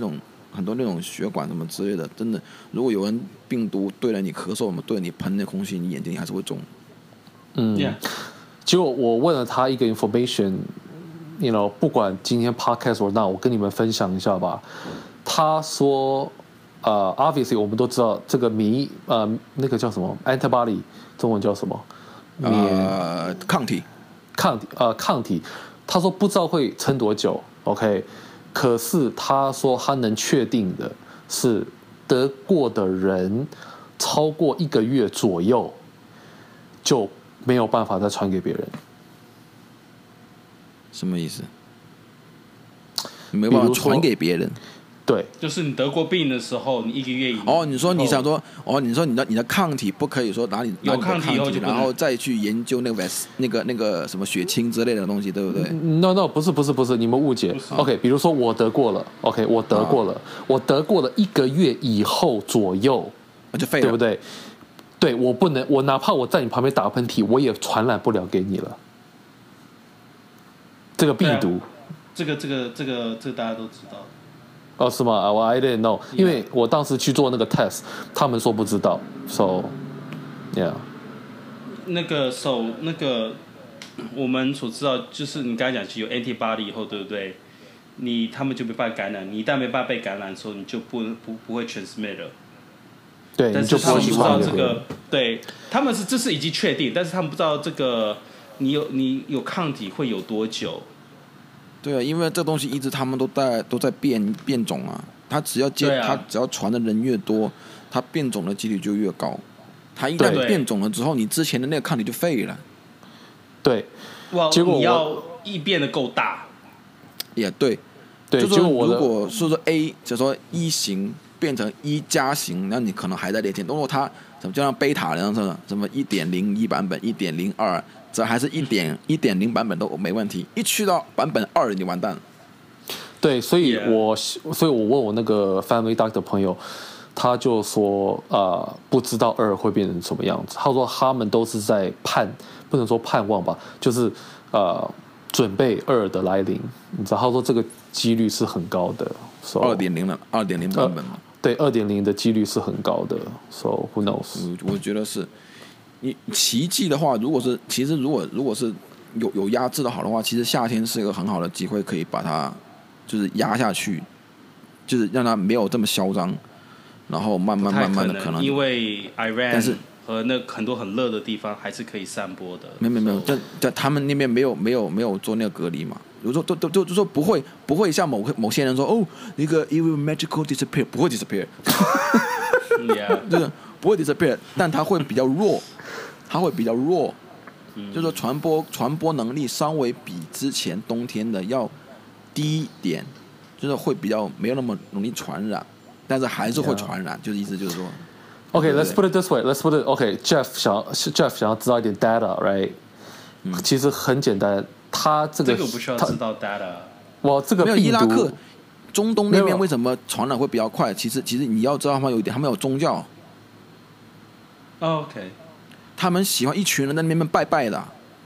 很多那種血管什麼之類的，真的，如果有人病毒对了你咳嗽，对了你噴那空氣，你眼睛還是會腫。 結果我問了他一個 information，you know， 不管今天 podcast or not， 我跟你們分享一下吧。他說，obviously 我們都知道這個那個叫什麼 antibody， 中文叫什麼？ 抗體。 抗體。他說不知道會撐多久 ，OK。可是他說他能確定的是，得過的人超過1個月左右就沒有辦法再傳給別人。 什麼意思？沒有辦法傳給別人。 對， 就是你得過病的時候，你1個月以後。 你說你想說，你說你的抗體不可以說拿你有抗體以後就然後再去研究那個什麼血清之類的東西，對不對 ？No， 不是，你們誤解。OK， 比如說我得過了 ，OK， 我得過了1個月以後左右， 就廢了， 對不對？對，我不能，我哪怕我在你旁邊打噴嚏，我也傳染不了給你了。這個病毒， 這個大家都知道。 是嗎？我 I didn't know， 因為我當時去做那個 test， 他們說不知道 ，so yeah。 那個我們所知道就是你剛才講有 antibody 以後，對不對？他們就沒辦法感染，你一旦沒辦法被感染的時候，你就不會 transmit 了。 對， 但是他們不知道這個，對，他們這是已經確定，但是他們不知道這個你有抗體會有多久。 对啊，因為這東西一直他們都在變種啊，它只要傳的人越多，它變種的幾率就越高。它一旦變種了之後，你之前的那個抗體就廢了。 對， 結果你要變得夠大。 也對，就說如果說 A 就說1型變成1加型，那你可能還在連線。如果它就像貝塔那樣什麼 1.01 版本 1.02。這還是1.0版本都沒問題，一去到版本2你完蛋了。 對，所以我問我那個 family doctor 朋友，他就說不知道2會變成什麼樣子。他說他們都是在不能說盼望吧，就是準備2的來臨。你知道，他說這個幾率是很高的。 2.0 版本嘛。 對，2.0的幾率是很高的。So who knows？ 我覺得是。你奇蹟的話，如果是有壓制的好的話，其實夏天是一個很好的機會，可以把它就是壓下去，就是讓它沒有這麼囂張，然後慢慢的可能。 因為 Iran 和那很多很熱的地方還是可以散播的。 沒有，在他們那邊沒有做那個隔離嘛。有時候都說不會像某些人說那個 it will magically disappear， 不會 disappear， 就是不會 disappear， 但它會比較弱。就是說傳播能力稍微比之前冬天的要低一點，就是會比較沒有那麼容易傳染，但是還是會傳染，就是意思就是說。 OK，let's put it this way. Let's put it. OK，Jeff 想要知道一點 data，right？其實很簡單，他這個不需要知道 data。 哇，這個病毒， 伊拉克、中東那邊為什麼傳染會比較快？其實你要知道他們有宗教。 OK。 他們喜歡一群人在那邊拜拜的。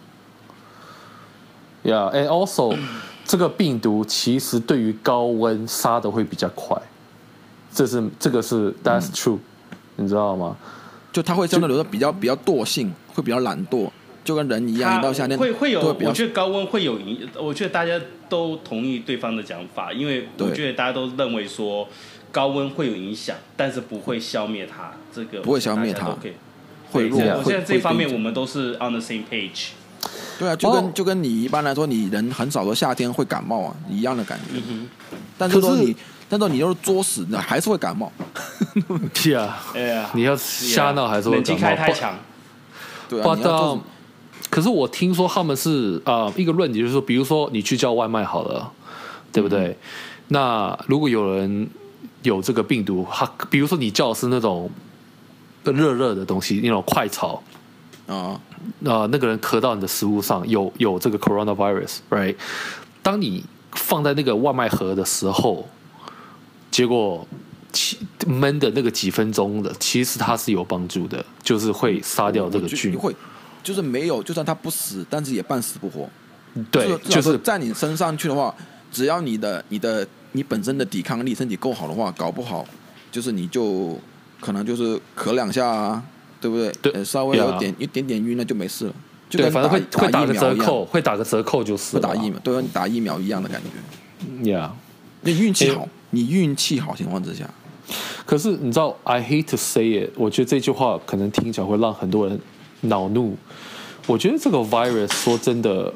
Yeah，and also，這個病毒其實對於高溫殺的會比較快，這個是 that's true，你知道嗎？ 就它會相對來說比較惰性，會比較懶惰，就跟人一樣，一到夏天會有。我覺得高溫會有我覺得大家都同意對方的講法，因為我覺得大家都認為說高溫會有影響，但是不會消滅它。這個不會消滅它。 會弱，我現在這方面我們都是 on the same page。 對啊，就跟你一般來說，你人很少的夏天會感冒啊，一樣的感覺。但是說你要是作死，你還是會感冒。 是啊，你要瞎鬧還是會感冒。冷氣開太強。 對啊。 可是我聽說他們是一個論點，就是說，比如說你去叫外賣好了，對不對？那如果有人有這個病毒，比如說你叫的是那種。熱的東西，那種快炒，那個人咳到你的食物上有這個 coronavirus，right？ 當你放在那個外賣盒的時候，結果悶的那個幾分鐘的，其實它是有幫助的，就是會殺掉這個菌。會， 就是沒有，就算它不死，但是也半死不活。 對，就是在你身上去的話，只要你的你本身的抵抗力身體夠好的話，搞不好就是你就可能就是咳2下啊，对不对？ 对， 稍微有一点点暈那就沒事了。就跟反正會打個折扣，會打個折扣就是。 打疫苗，對，你打疫苗一樣的感覺。 Yeah， 你運氣好，你運氣好情況之下。 可是你知道 ，I hate to say it， 我覺得這句話可能聽起來會讓很多人惱怒。我覺得這個 virus 說真的，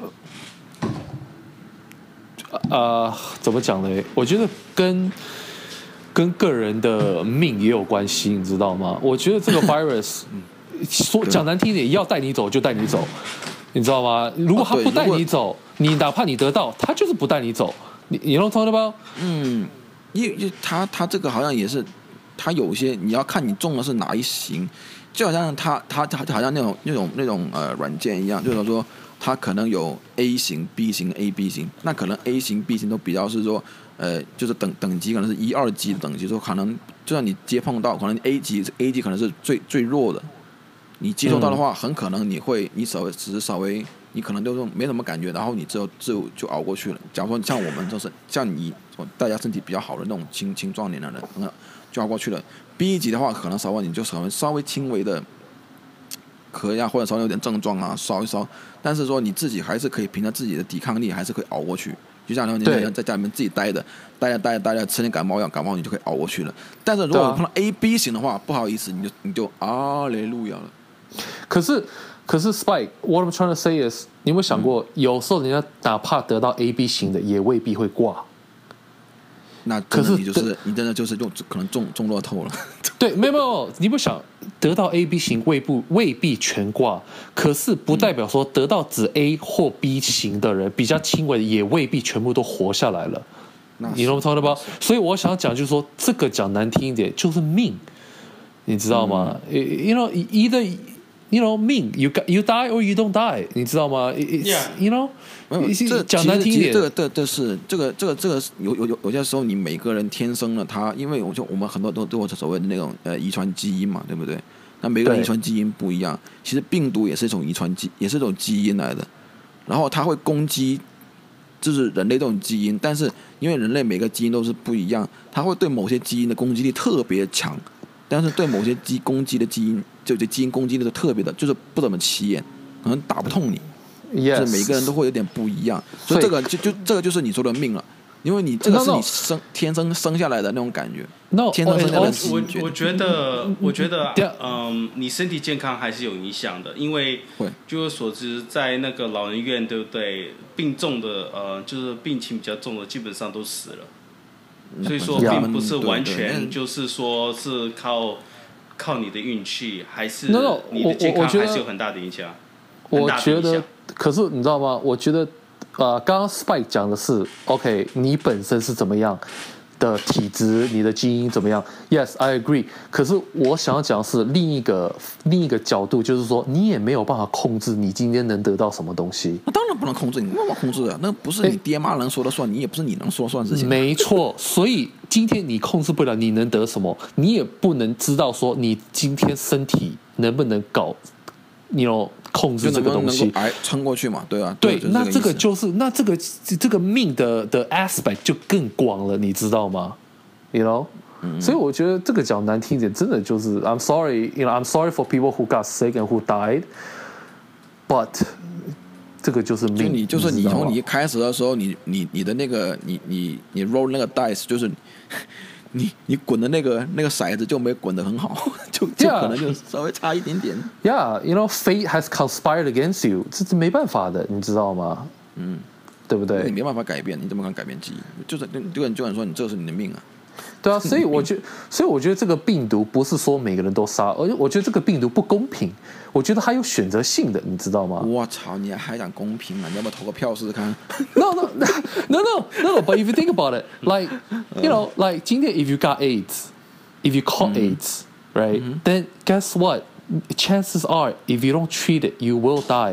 怎麼講呢？我覺得跟個人的命也有關係，你知道嗎？我覺得這個 virus 說講難聽點，要帶你走就帶你走，你知道嗎？如果他不帶你走，你哪怕你得到，他就是不帶你走。你能懂嗎？ 因為他這個好像也是，他有些你要看你中的是哪一型，就好像他好像那種軟件一樣，就是說他可能有 A 型、B 型、A、B 型，那可能 A 型、B 型都比較是說就是等級可能是1、2級的等級，說可能就算你接碰到，可能 A 級可能是最弱的。你接受到的話，很可能你稍微，你可能就是沒什麼感覺，然後你就熬過去了。假如說像我們就是像你，大家身體比較好的那種青壯年的人，就熬過去了。B 級的話，可能稍微你就稍微輕微的咳呀，或者稍微有點症狀啊，燒一燒，但是說你自己還是可以憑着自己的抵抗力，還是可以熬過去。就像你在家裡面自己待着，吃點感冒藥，你就可以熬過去了。但是如果碰到 A、B 型的話，不好意思，你就阿雷路亞了。 可是 Spike，what I'm trying to say is， 你有沒有想過，有時候人家哪怕得到 A、B 型的，也未必會掛。 那可是你真的就是可能中樂透了。 對，沒有，你不想得到 A、B 型未必全掛，可是不代表說得到只 A 或 B 型的人比較輕微的，也未必全部都活下來了。你懂我的吧？所以我想講就是說，這個講難聽一點，就是命，你知道嗎？You know either。You know, mean you die or you don't die， 你知道嗎 ？You know， 講難聽一點， 這個有些時候你每個人天生的他，因為我們很多都有所謂的那種遺傳基因嘛，對不對？那每個人遺傳基因不一樣，其實病毒也是一種也是一種基因來的，然後它會攻擊就是人類這種基因，但是因為人類每個基因都是不一樣，它會對某些基因的攻擊力特別強。但是對某些攻擊的基因，就基因攻擊力是特別的，就是不怎麼起眼，可能打不痛你。 Yes. 就是每個人都會有點不一樣，所以這個這個就是你說的命了，因為你這個是你天生生下來的那種感覺。天生生下來的基因。 我覺得，你身體健康還是有影響的，因為據我所知，在那個老人院，對不對？病重的就是病情比較重的，基本上都死了。所以說，並不是完全就是說是靠你的運氣，還是你的健康還是有很大的影響。 我覺得，可是你知道嗎？我覺得，剛剛 Spike 講的是 ，OK， 你本身是怎麼樣的體質，你的基因怎麼樣 ？Yes, I agree。可是我想要講的是另一個角度，就是說你也沒有辦法控制你今天能得到什麼東西。 那當然不能控制，你沒辦法控制的，那不是你爹媽能說了算，你也不是你能說了算的事情。 沒錯，所以今天你控制不了你能得什麼，你也不能知道說你今天身體能不能搞，你有控制這個東西， 撐過去嘛，對啊。 對，那這個就是那這個命的 aspect 就更廣了，你知道嗎 ？You know，所以我覺得這個講難聽一點，真的就是 I'm sorry，you know，I'm sorry for people who got sick and who died，but 這個就是命。 就是你從你一開始的時候，你的那個你 roll 那個 dice 就是。你滾的那個骰子就沒滾得很好，就可能就稍微差一點點。 Yeah, you know, fate has conspired against you， 這是沒辦法的，你知道嗎？對不對？ 你沒辦法改变，你怎麼敢改變基因？就是就敢說你這是你的命啊。 對啊，所以我覺得這個病毒不是說每個人都殺，而且我覺得這個病毒不公平，我覺得它有選擇性的，你知道嗎？ 我操，你還講公平啊？你要不要投個票試試看 ？No, but if you think about it, like, you know, like 今天 if you got AIDS, if you caught AIDS, right, then guess what? Chances are, if you don't treat it, you will die.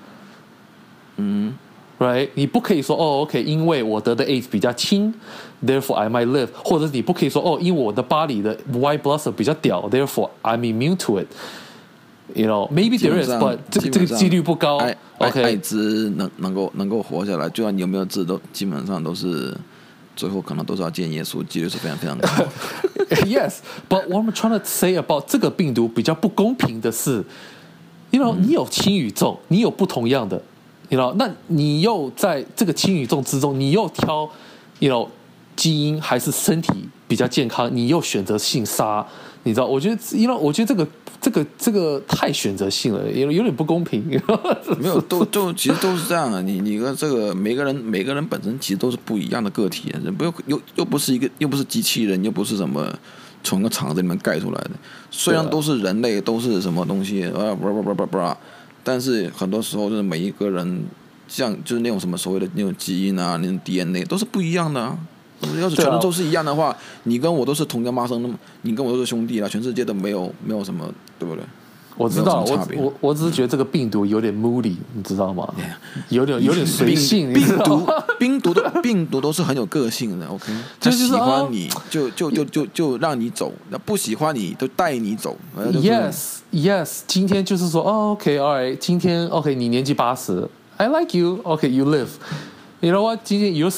Right? 你不可以說哦 ，OK， 因為我得的 AIDS 比較輕 ，therefore I might live， 或者你不可以說哦，因為我的body的 white blood cell 比較屌 ，therefore I'm immune to it。You know, maybe there is, but 這個幾率不高。 OK， 艾滋能夠活下來，就算你有沒有治，都基本上都是最後可能都是要見耶穌，幾率是非常非常高。 Yes, but what I'm trying to say about 這個病毒比較不公平的是，you know，你有輕與重，你有不同樣的，you know，那你又在這個輕與重之中，你又挑，you know，基因還是身體比較健康，你又選擇性殺，你知道？我覺得，因為我覺得這個太選擇性了，有點不公平。 沒有，其實都是這樣的。你跟這個每個人本身其實都是不一樣的個體，又不是機器人，又不是什麼從個廠子裡面蓋出來的。雖然都是人類，都是什麼東西但是很多時候就是每一個人，像就是那種什麼所謂的那種基因啊，那種 DNA 都是不一樣的啊。要是全都是一樣的話，你跟我都是同根媽生的，你跟我都是兄弟啊，全世界都沒有什麼，對不对？ 我知道，我只是覺得這個病毒有點 moody， 你知道嗎？有點隨性。病毒都是很有個性的 ，OK？ 他喜歡你就讓你走，那不喜歡你就帶你走。Yes， 今天就是說，OK，all right， 今天 OK， 你年紀80 ，I like you，OK，you live。You know what？ 今天 you're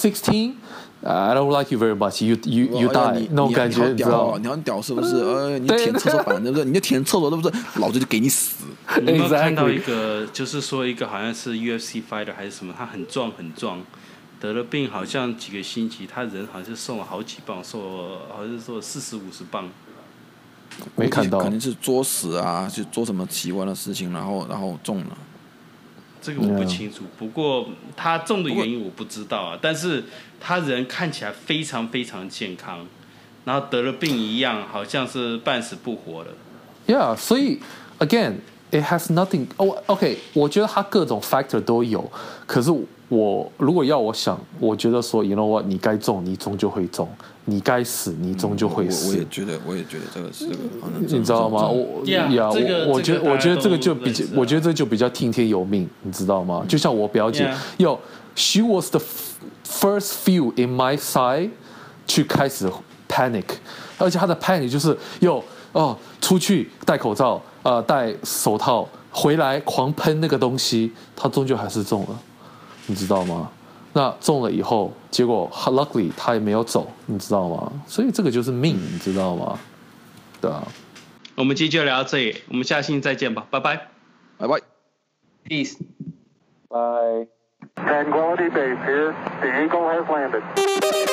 16。I don't like you very much. You die 那種感觉，你知道？ 你很屌是不是？你舔廁所板，对不对？你就舔廁所，对不对？老子就給你死。 你有沒有看到一個，就是說一個好像是 UFC fighter 還是什麼，他很壯，得了病，好像幾個星期，他人好像是瘦了好幾磅，好像是瘦了40-50磅。 沒看到， 肯定是作死啊，去做什麼奇怪的事情，然後中了。 這個我不清楚，不過他中的原因我不知道啊。但是他人看起來非常非常健康，然後得了病一樣，好像是半死不活的。 Yeah， 所以 again it has nothing。OK， 我覺得他各種 factor 都有，可是我如果要我想，我覺得說 ，you know what， 你該中，你終究會中；你該死，你終究會死。 我也覺得這個是這個， 你知道嗎？我覺得這個就比較，我覺得這就比較聽天由命，你知道嗎？就像我表姐，she was the first few in my side 去開始 panic， 而且她的 panic 就是出去戴口罩，戴手套，回來狂噴那個東西，她終究還是中了。你知道嗎？那中了以後，結果 luckily 他也沒有走，你知道嗎？所以這個就是命，你知道嗎？對啊。 我們今天就聊到這裡，我們下期再見吧，拜拜， 拜拜 ，peace， bye。Tranquility Base here. The Eagle has landed.